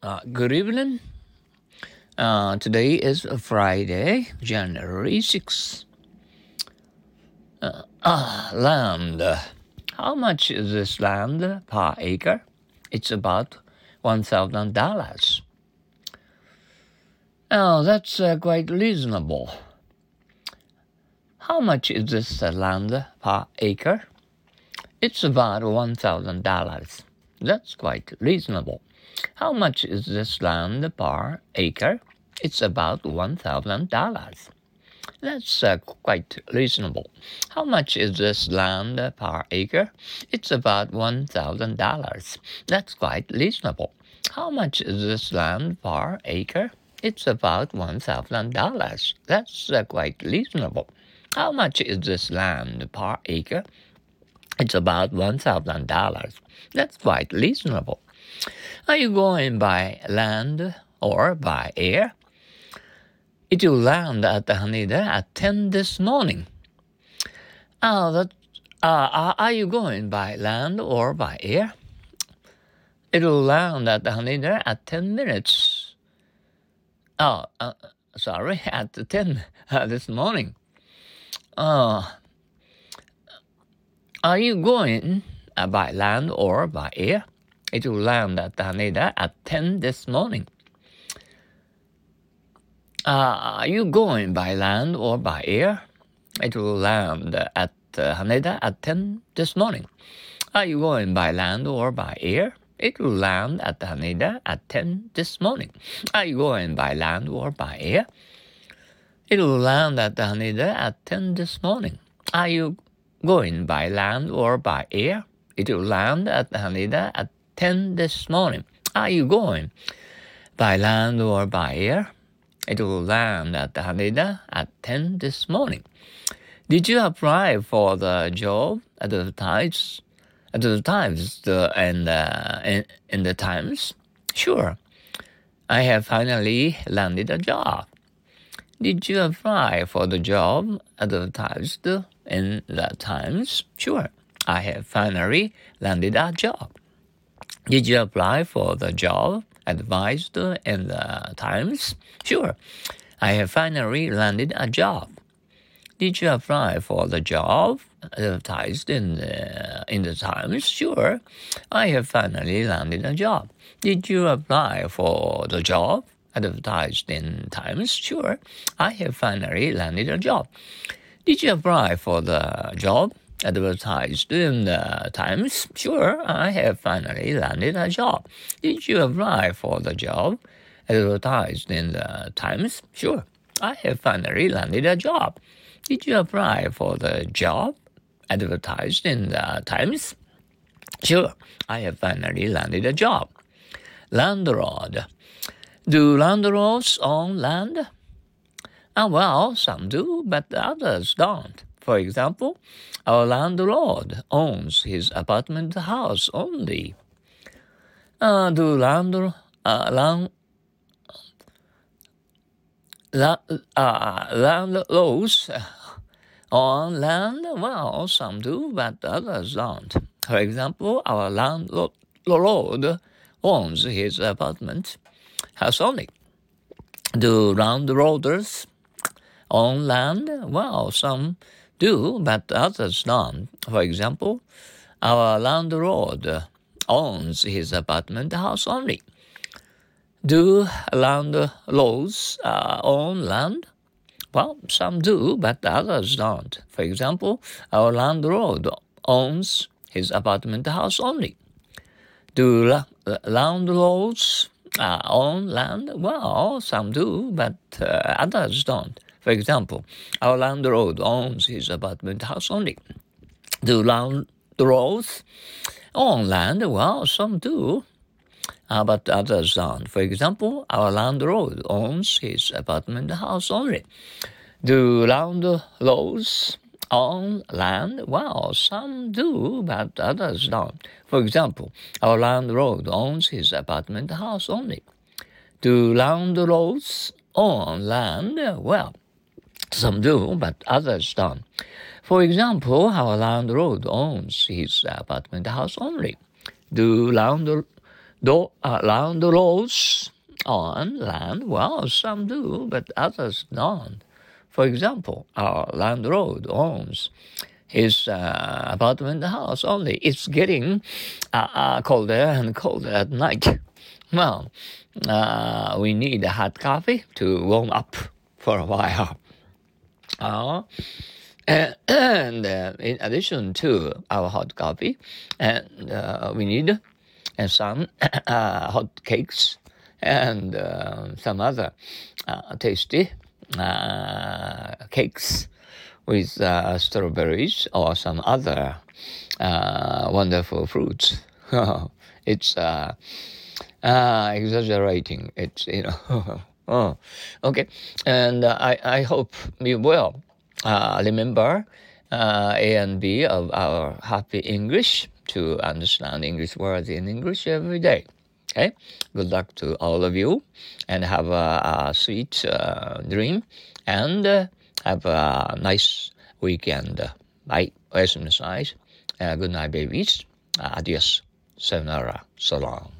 Good evening. Today is Friday, January 6th. Land. How much is this land per acre? It's about $1,000. Oh, that's quite reasonable. How much is this land per acre? It's about $1,000. That's quite reasonable. How much is this land per acre? It's about $1,000. That's quite reasonable. How much is this land per acre? It's about $1,000. That's quite reasonable. How much is this land per acre? It's about $1,000. That's quite reasonable. How much is this land per acre? It's about $1,000. That's quite reasonable. Are you going by land or by air? It will land at Haneda at 10 this morning. Are you going by land or by air? It will land at Haneda at 10 minutes. At 10 this morning. Are you going by land or by air? It will land at Haneda at 10 this morning. Are you going by land or by air? It will land at Haneda at 10 this morning. Are you going by land or by air? It will land at Haneda at 10 this morning. Are you going by land or by air? It will land at Haneda at 10 this morning. Are you going by land or by air? It will land at Haneda at 10 this morning. Are you going by land or by air? It will land at Haneda at 10 this morning. Did you apply for the job advertised in the Times? Sure. I have finally landed a job. Did you apply for the job advertised in the Times? Sure. I have finally landed a job. Did you apply for the job advised in the Times? Sure. I have finally landed a job. Did you apply for the job advertised in the Times? Sure. I have finally landed a job. Did you apply for the job advertised in Times? Sure. I have finally landed a job. Did you apply for the job advertised in the Times? Sure, I have finally landed a job. Did you apply for the job advertised in the Times? Sure, I have finally landed a job. Did you apply for the job advertised in the Times? Sure, I have finally landed a job. Landlord. Do landlords own land? Well, some do, but others don't. For example, our landlord owns his apartment house only. Landlords own land? Well, some do, but others don't. For example, our landlord owns his apartment house only. Do landlords own land? Well, some do, but others don't. For example, our landlord owns his apartment house only. Do landlords own land? Well, some do, but others don't. For example, our landlord owns his apartment house only. Do landlords own land? Well, some do, but others don't. For example, our landlord owns his apartment house only. Do landlords own land? Well, some do, but others don't. For example, our landlord owns his apartment house only. Do landlords own land? Well, some do, but others don't. For example, our landlord owns his apartment house only. Do landlords own land? Well, some do, but others don't. For example, our landlord owns his apartment house only. Do round roads on land? Well, some do, but others don't. For example, our landlord owns his apartment house only. It's getting colder and colder at night. Well, we need a hot coffee to warm up for a while. And in addition to our hot coffee, and we need some hot cakes and some other tasty cakes with strawberries or some other wonderful fruits. It's exaggerating. It's oh, okay. And I hope you will remember A and B of our Happy English to understand English words in English every day. Okay. Good luck to all of you, and have a sweet dream, and have a nice weekend. Bye. おやすみなさい。Good night, babies. Adios. Sayonara. So long.